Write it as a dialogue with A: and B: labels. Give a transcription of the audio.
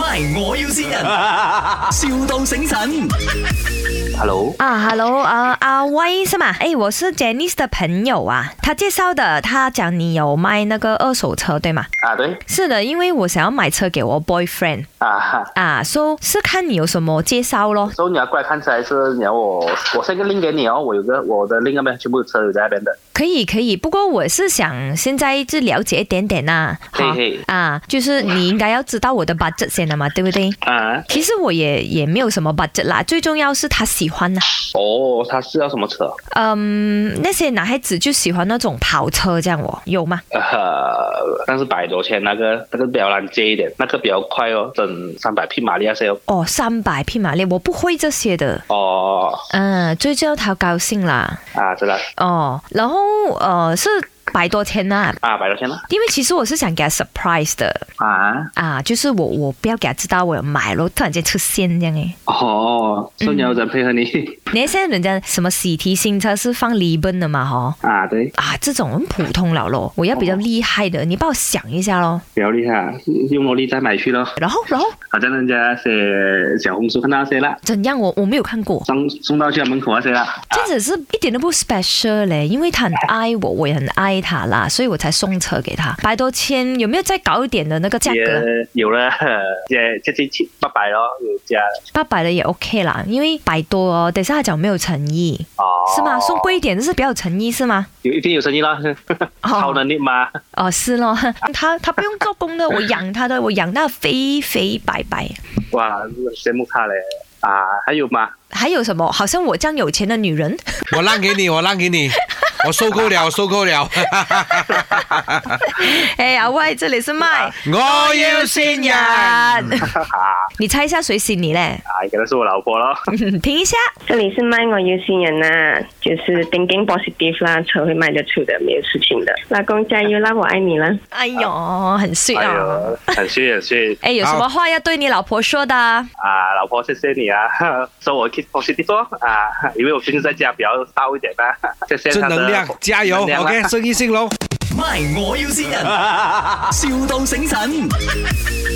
A: My 我要先人，,笑到醒神。
B: Hello，
C: Hello， 阿威是吗？我是 Janice 的朋友啊，他介绍的，他讲你有卖那个二手车，对吗？
B: 对。
C: 是的，因为我想要买车给我 boyfriend。so 是看你有什么介绍咯。
B: 所以你要过来看车，还是你要我send个 link 给你哦？我的 link 那边全部车有在那边的。
C: 可以，不过我是想现在就了解一点点呐。就是你应该要知道我的 budget 先了嘛，对不对？其实我也没有什么 budget 啦，最重要是他喜欢呐。
B: 他是要什么车？
C: 那些男孩子就喜欢那种跑车这样有吗？
B: 但是100多千那个比较难接一点，那个比较快哦，整300匹马力那些哦。
C: 300匹马力，我不会这些的。最重要他高兴啦。
B: 知道。
C: 然后是100多千呐。
B: 100多千了。因
C: 为其实我是想给他 surprise 的。就是我不要给他知道我有买咯，突然间出现这样
B: 所以你要人配合你。
C: 你现在人家什么喜提新车是放 Liban 的嘛
B: 对。
C: 这种很普通了咯，我要比较厉害的，你帮我想一下咯。
B: 比较厉害，用萝莉再买去咯。
C: 然后
B: 好像人家写小红书看到那些啦。
C: 怎样？我没有看过。
B: 送到去门口那些啦。
C: 这样子是一点都不 special 嘞，因为他很爱我，我也很爱他啦，所以我才送车给他。100多千，有没有再高一点的那个价格？
B: 有了，接近800咯，有加。800
C: 的也 OK 啦，因为100多等一下他讲没有诚意。是吗？送贵一点就是比较有诚意是吗？
B: 一定有诚意啦，超能力吗？
C: 是咯，他不用做工的，我养他的，我养到肥肥白白。
B: 哇，羡慕他嘞。还有吗？
C: 还有什么？好像我这样有钱的女人。
D: 我让给你，我收购了。
C: 阿威，这里是麦，
D: 我要先人。
C: 你猜一下谁信你嘞？
B: 应该是我老婆咯。
C: 听一下，
E: 这里是麦，我要先人啊，就是 thinking positive 啦，车会卖得出的，没有事情的。老公加油啦，我爱你了。
C: 哎呦，很sweet啊，
B: 很 sweet。
C: 有什么话要对你老婆说的？
B: 老婆，谢谢你啊，说我 keep positive 因为我平时在家比较骚一点啦。谢谢他的
D: 正能量，加油 ，OK， 生意兴隆。
A: My 我要先人，笑到醒神。